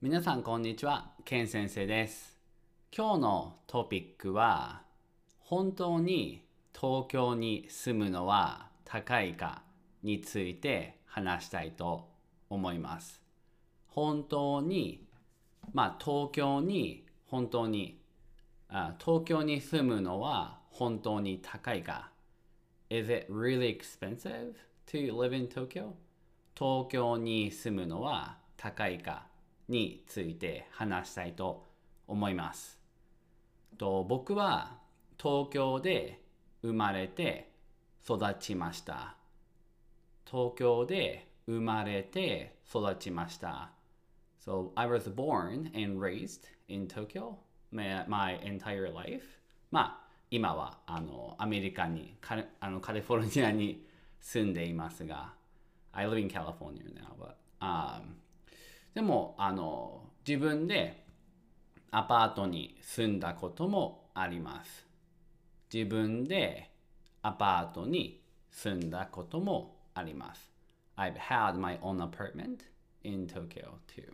皆さんこんにちは、ケン先生です。今日のトピックは、本当に東京に住むのは高いかについて話したいと思います。本当に、東京に東京に住むのは本当に高いか。Is it really expensive to live in Tokyo? 東京に住むのは高いかについて話したいと思います。僕は東京で生まれて育ちました。東京で生まれて育ちました。So I was born and raised in Tokyo my entire life. 今はアメリカにカリフォルニアに住んでいますが、I live in California now,でも自分でアパートに住んだこともあります。自分でアパートに住んだこともあります。I've had my own apartment in Tokyo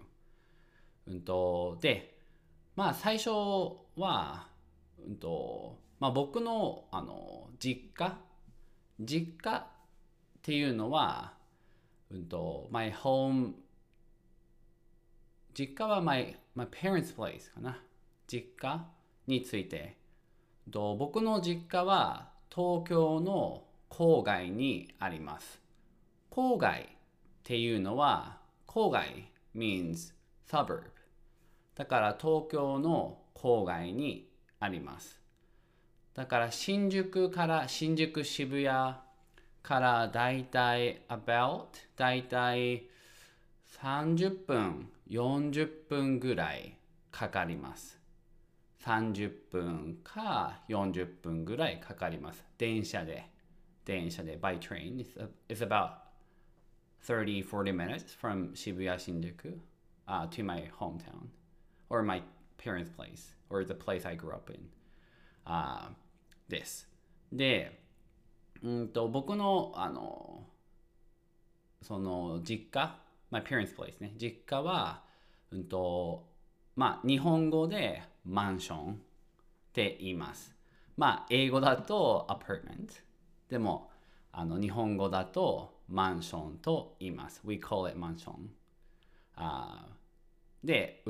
too. で、最初は、僕の、実家っていうのは、my home 実家は my parents' place かな。実家について。僕の実家は東京の郊外にあります。郊外っていうのは、郊外 means suburb。だから東京の郊外にあります。だから新宿渋谷からだいたい30分、40分ぐらいかかります。30分か40分ぐらいかかります。電車で、by train. It's about 30, 40 minutes from Shibuya Shinjuku to my hometown or my parents' place or the place I grew up in. です。で、僕のその実家、my parents' place ね。実家は、日本語でマンションって言います。英語だと apartment。でも、日本語だとマンションと言います。We call it マンション。で、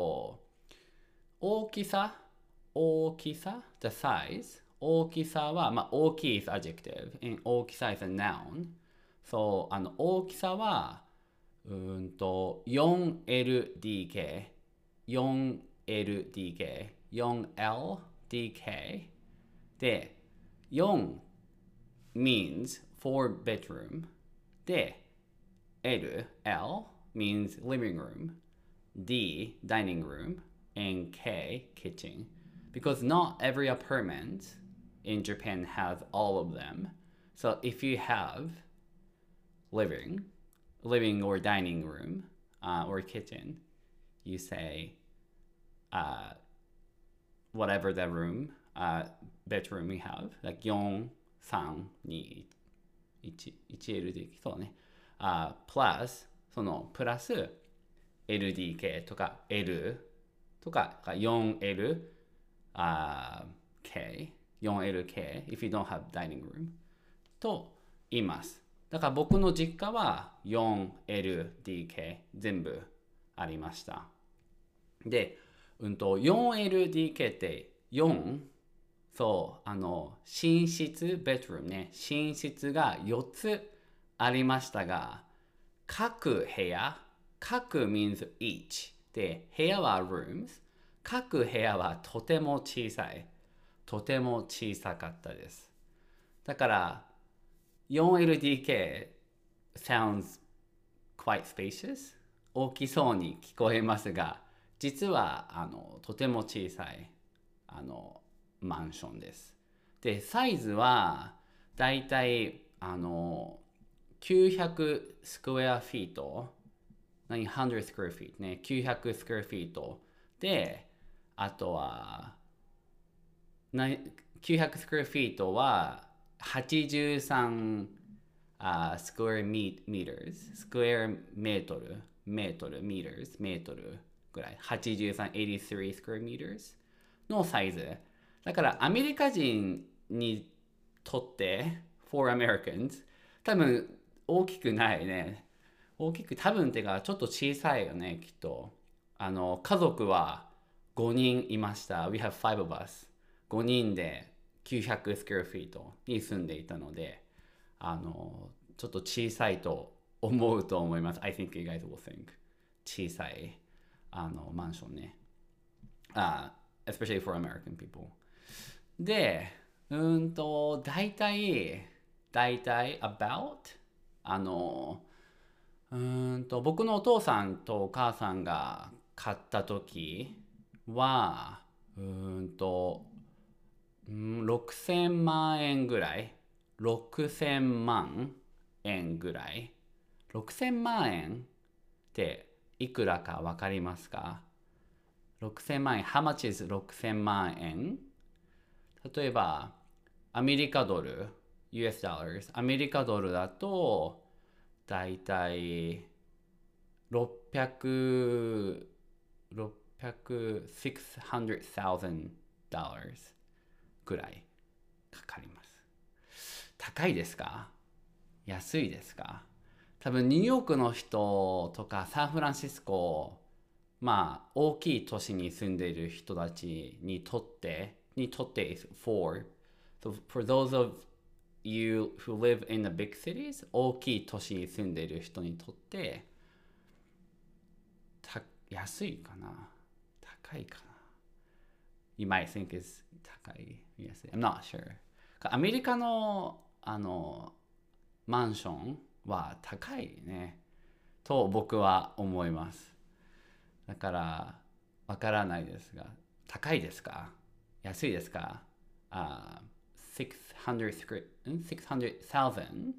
大きさ、the size。大きさは、大きい is adjective and 大きさ is a noun。そう、大きさは、4LDK、4LDK で、4 means four bedroom で、L means living room, D dining room, and K kitchen. Because not every apartment in Japan has all of them. So if you have living or dining room or kitchen, you say whatever the room, bedroom you have, like 4、3、2、1LDK そうね。plus そのプラス LDK とか L とか 4LK if you don't have dining room と言います。だから僕の実家は 4LDK 全部ありました。で、4LDK って4、そう、寝室、ベッドルームね、寝室が4つありましたが、各部屋、各 means each で、部屋は rooms、各部屋はとても小さかったです。だから、4LDK sounds quite spacious 大きそうに聞こえますが、実はとても小さいマンションです。で、サイズはだいたい900スクエアフィート、900スクエアフィートね、900スクエアフィートで、あとは900スクエアフィートは83スクエアメートル、メートルぐらい。83、83 square meters のサイズ。だからアメリカ人にとって、for Americans、多分大きくないね。大きく、多分ってかちょっと小さいよね、きっと。家族は5人いました。We have five of us。5人で900スクエアフィートに住んでいたので、ちょっと小さいと思うと思います。I think you guys will think. 小さいマンションね。especially for American people. で、大体 about 僕のお父さんとお母さんが買った時は、6000万円ぐらい。6000万円ぐらい。6000万円っていくらかわかりますか？ 6000 万円。How much is 6000万円？例えば、アメリカドル、US dollars、アメリカドルだと、だいたい600,000 dollars ぐらいかかります。高いですか？安いですか？多分ニューヨークの人とかサンフランシスコ、まあ大きい都市に住んでいる人たちにとって、for those of you who live in the big cities、大きい都市に住んでいる人にとって安いかな？高いかな？ You might think is 高い、安い。I'm not sure。アメリカのマンションは高いねと僕は思います。だからわからないですが、高いですか？安いですか？$600,000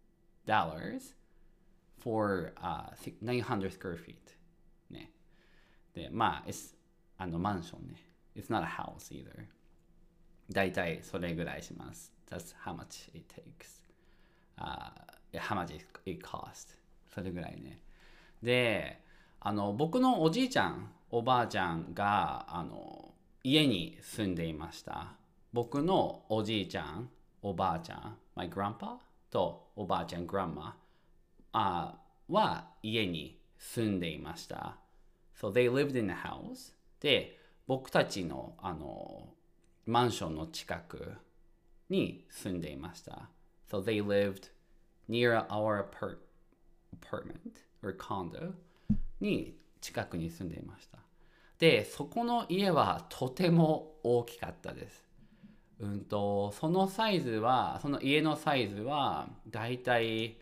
for 900 square feet ね。で、まあ、マンションね。It's not a house either。だいたいそれぐらいします。That's how much it takes.How much it cost それぐらいね。で、僕のおじいちゃん、おばあちゃんが、家に住んでいました。僕のおじいちゃん、おばあちゃん、my grandpa とおばあちゃん、grandma は家に住んでいました。So they lived in a house. で、僕たちの、マンションの近くに住んでいました。So they lived near our apartment or condo に近くに住んでいました。で、そこの家はとても大きかったです。そのサイズは、その家のサイズはだいたい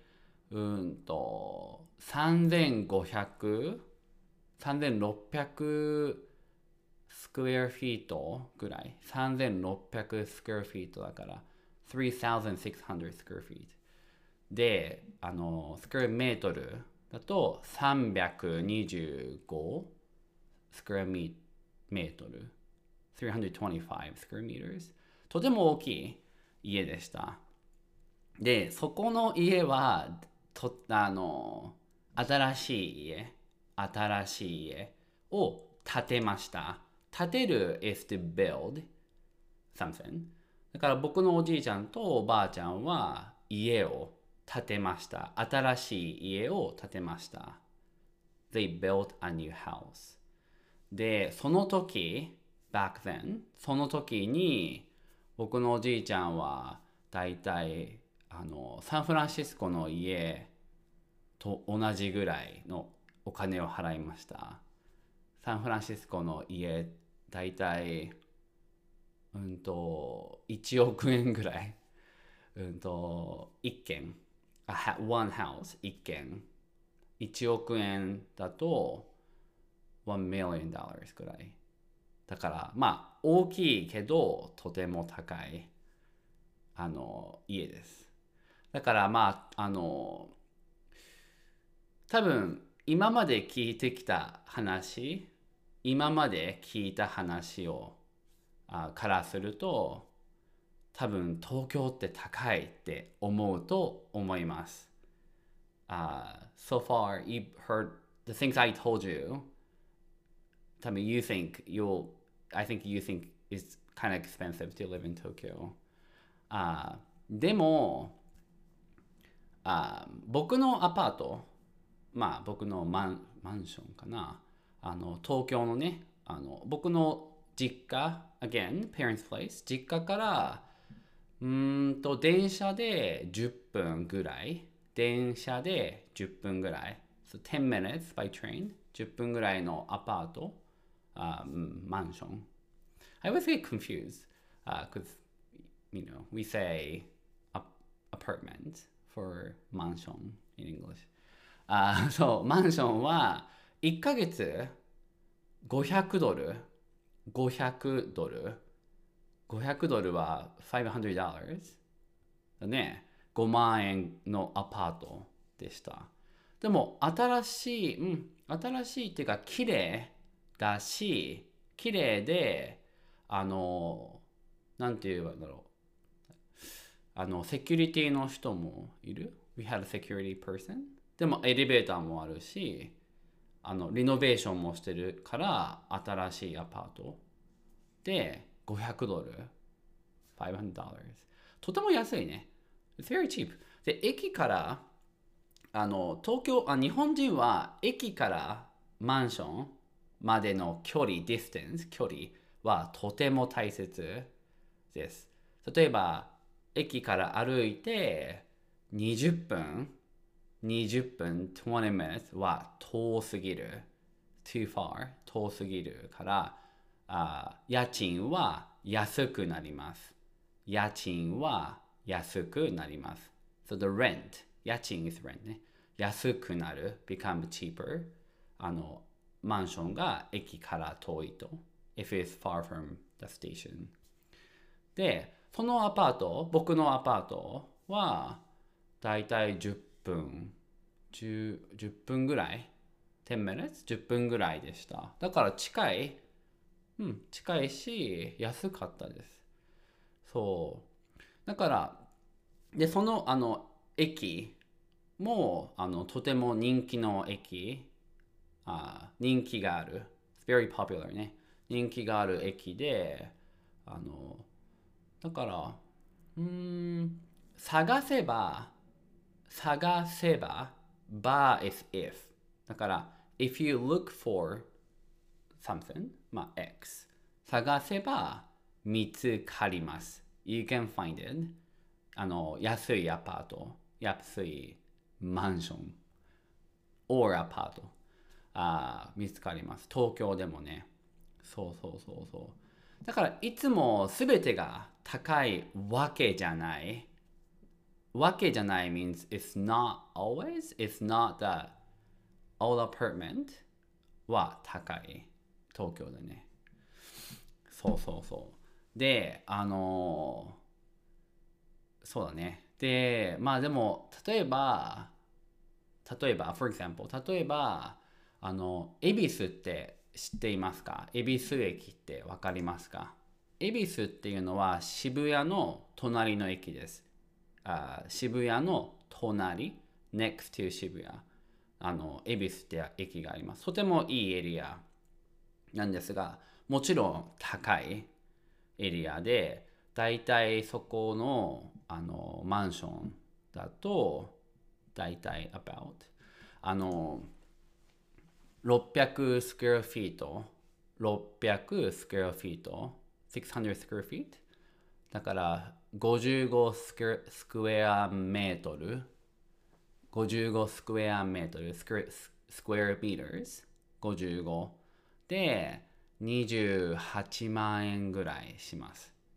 3500、3600スクエアフィートぐらい。3600スクエアフィートだから3600スクエアフィート。で、スクエアメートルだと325スクエアメートル。325スクエアメートル。とても大きい家でした。で、そこの家は、新しい家を建てました。建てる is to build something。だから僕のおじいちゃんとおばあちゃんは家を建てました。新しい家を建てました。They built a new house。で、その時、back then、その時に僕のおじいちゃんはだいたいサンフランシスコの家と同じぐらいのお金を払いました。サンフランシスコの家だいたい1億円ぐらい。1軒。one house 1軒。1億円だと$1 million くらい。だからまあ大きいけどとても高い家です。だからまあ多分今まで聞いてきた話、今まで聞いた話をからすると多分東京って高いって思うと思います。So far, you've heard the things I told you. 多分I think you think it's kind of expensive to live in Tokyo. でも、僕のアパート、僕のマンションかな。東京のね、僕の実家、again, parents' place、実家から、電車で10分ぐらい。電車で10分ぐらい。So 10 minutes by train。10分ぐらいのアパート。マンション。I always get confused because, we say apartment for mansion in English. そう、マンションは1ヶ月500ドル。500ドル。500ドルは$500だね。5万円のアパートでした。でも新しいっていうか綺麗だし、綺麗で、なんて言うんだろう。セキュリティの人もいる。We had a security person. でもエレベーターもあるし、リノベーションもしてるから新しいアパートで500ドル$500とても安いね。It's very cheap. で、駅から日本人は駅からマンションまでの距離、距離はとても大切です。例えば、駅から歩いて20分、20 minutes は遠すぎる。too far 遠すぎるから、家賃は安くなります。家賃は安くなります。So the rent 家賃 is rent ね。安くなる become cheaper マンションが駅から遠いと if it's far from the station で、そのアパート、僕のアパートはだいたい10分ぐらい10 minutes? 10分ぐらいでした。だから近いし安かったです。そう。だからで、その駅もとても人気の駅、人気がある。It's very popular ね。人気がある駅で、だから、探せば、bar is if。だから、if you look for something、X。探せば見つかります。You can find it。安いアパート、安いマンション、or アパート、見つかります。東京でもね。そう。だからいつもすべてが高いわけじゃない。means it's not always, it's not that all apartment は高い。東京でね。そう。で、そうだね。で、でも、例えば、for example、例えば、恵比寿って知っていますか？恵比寿駅ってわかりますか？恵比寿っていうのは渋谷の隣の駅です。渋谷の隣、next to 渋谷。恵比寿って駅があります。とてもいいエリアなんですが、もちろん高いエリアで、だいたいそこのマンションだとだいたい about 600スクエアフィート600スクエアフィート600スクエアフィートだから55スクエアメートル55スクエアメートルスクエアミーターズ55で28万円ぐらいします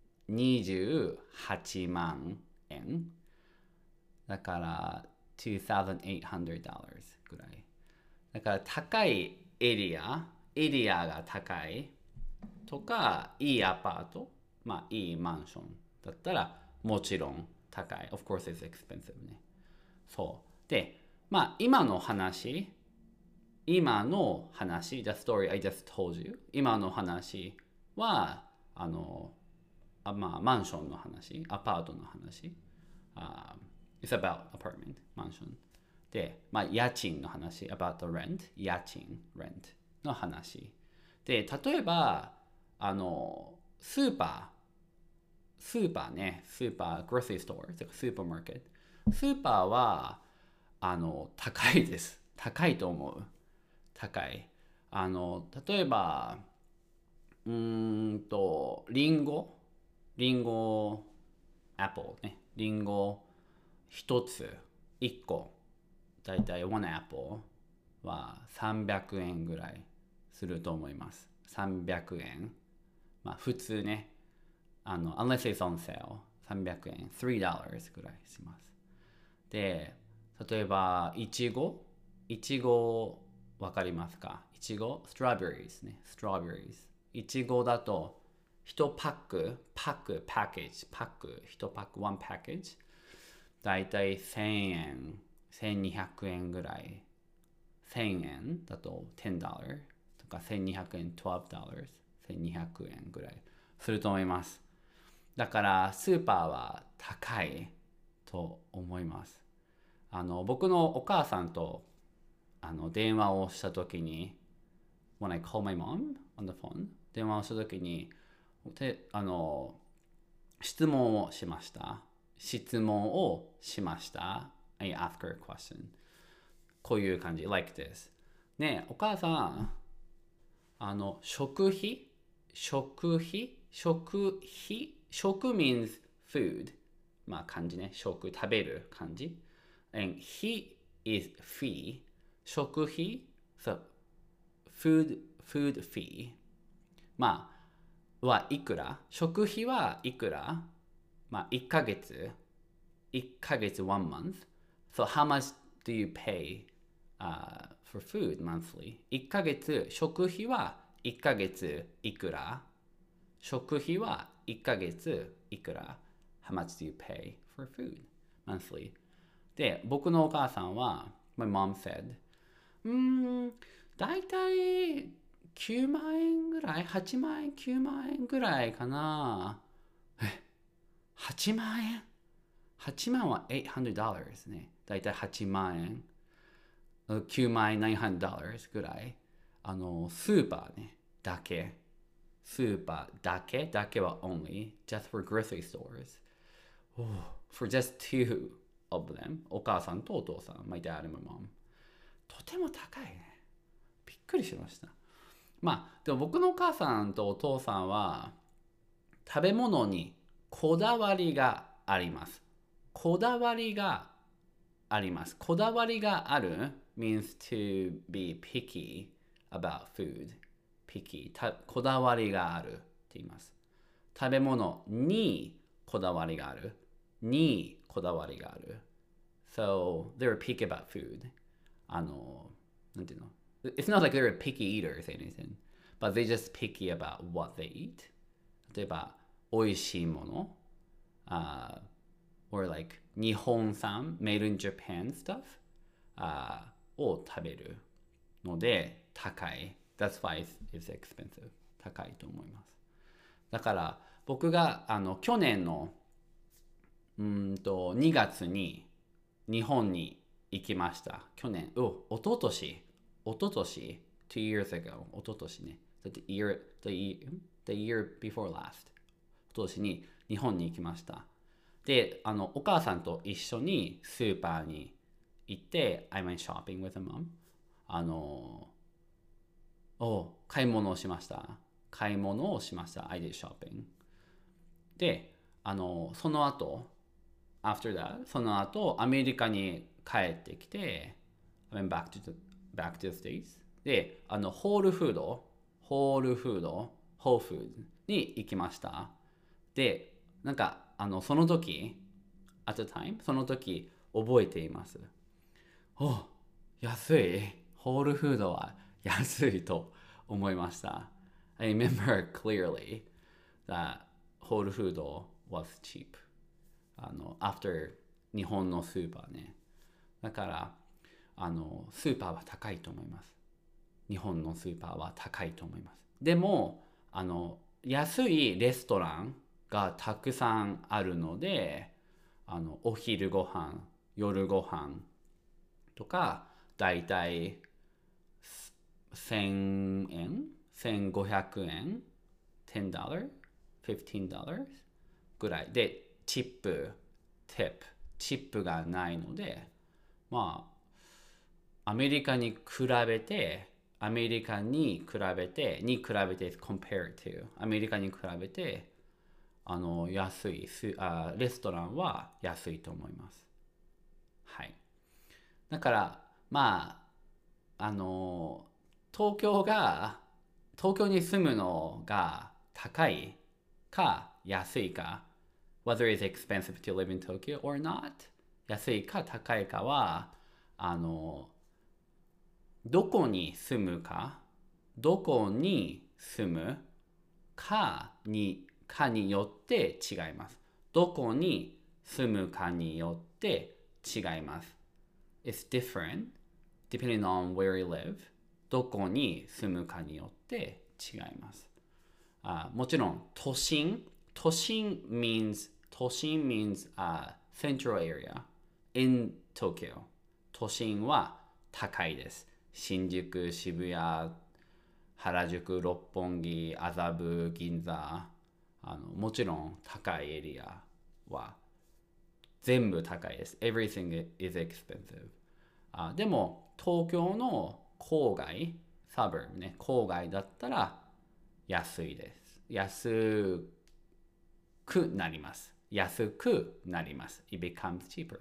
。28万円だから$2,800ぐらい。だから高いエリアが高いとか、いいアパート、いいマンションだったらもちろん高い。Of course it's expensive ね。そう。で、今の話、the story I just told you、今の話は、マンションの話、アパートの話。It's about apartment, マンション。で、家賃の話、about the rent、家賃、rent の話。 で、例えば、スーパね、スーパー、グロッサリーストア、スーパーマーケット。スーパーは、高いです。高いと思う。高い。例えば、リンゴ、アップルね。リンゴ一つ、一個、だいたい1アップルは300円ぐらいすると思います。300円。まあ普通ね。unless it's on sale、300円、$3 ぐらいします。で、例えば、いちごわかりますか？いちご、ストロベリーですね。ストロベリーズ。いちごだと、1パック、パッケージ、1パック、1パッケージ。だいたい1000円、1200円ぐらい。1000円だと$10とか1200円、$12、1200円ぐらいすると思います。だからスーパーは高いと思います。僕のお母さんと電話をしたときに When I call my mom on the phone 電話をしたときに質問をしました。I ask her a question こういう感じ like this ねえお母さん食means food まあ漢字ね食べる漢字 and he is fee 食費 so food fee まあはいくら食費はいくらまあ1ヶ月1 month so how much do you pay for food monthly 1ヶ月食費は1ヶ月いくら食費は1ヶ月いくら How much do you pay for food monthly で僕のお母さんは My mom said だいたい9万円ぐらい8万円9万円ぐらいかな8万円8万は$800ですねだいたい8万円9万円$900ぐらいスーパーねだけスーパーだけは only just for grocery stores for just two of them お母さんとお父さん my dad and my mom とても高いねびっくりしましたまあでも僕のお母さんとお父さんは食べ物にこだわりがありますこだわりがある means to be picky about food picky こだわりがあるって言います食べ物にこだわりがある so they're picky about food なんていうの It's not like they're picky eaters or anything but they just picky about what they eat 例えば美味しいものor like 日本産 made in Japan stuff を食べるので高い That's why it's expensive 高いと思いますだから僕が去年の2月に日本に行きました去年一昨年2 years ago 一昨年ね the year before last 一昨年に日本に行きましたでお母さんと一緒にスーパーに行って I went shopping with a mom 買い物をしました I did shopping でその後 after that その後アメリカに帰ってきて I went back to the States でホールフードに行きましたでなんかその時 at the time その時覚えています安いホールフードは安いと思いました I remember clearly that ホールフード was cheap after 日本のスーパーねだからスーパーは高いと思います日本のスーパーは高いと思いますでも安いレストランがたくさんあるのでお昼ご飯夜ご飯とかだいたい1000円 1500円 $10 $15 ぐらいで、チップがないので、まあアメリカに比べてcompare to アメリカに比べて安いレストランは安いと思います。はい。だからまあ東京に住むのが高いか安いか whether it's expensive to live in Tokyo or not 安いか高いかはどこに住むかによって違います。どこに住むかによって違います。It's different depending on where you live. どこに住むかによって違います。もちろん都心 means central area in Tokyo. 都心は高いです。新宿、渋谷、原宿、六本木、麻布、銀座、もちろん高いエリアは全部高いです。Everything is expensive. でも東京の郊外、suburb ね、郊外だったら安いです。安くなります。It becomes cheaper.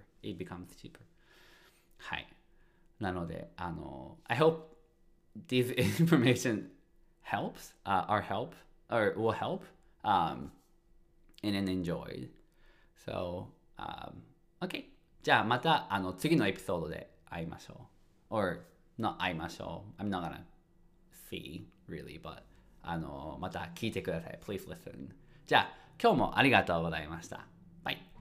はい。なので、I hope this information helps, or will help, and then enjoyed. So, okay. じゃあまた次のエピソードで会いましょう。or not 会いましょう。I'm not gonna see, really, but また聞いてください。Please listen. じゃあ今日もありがとうございました。バイ。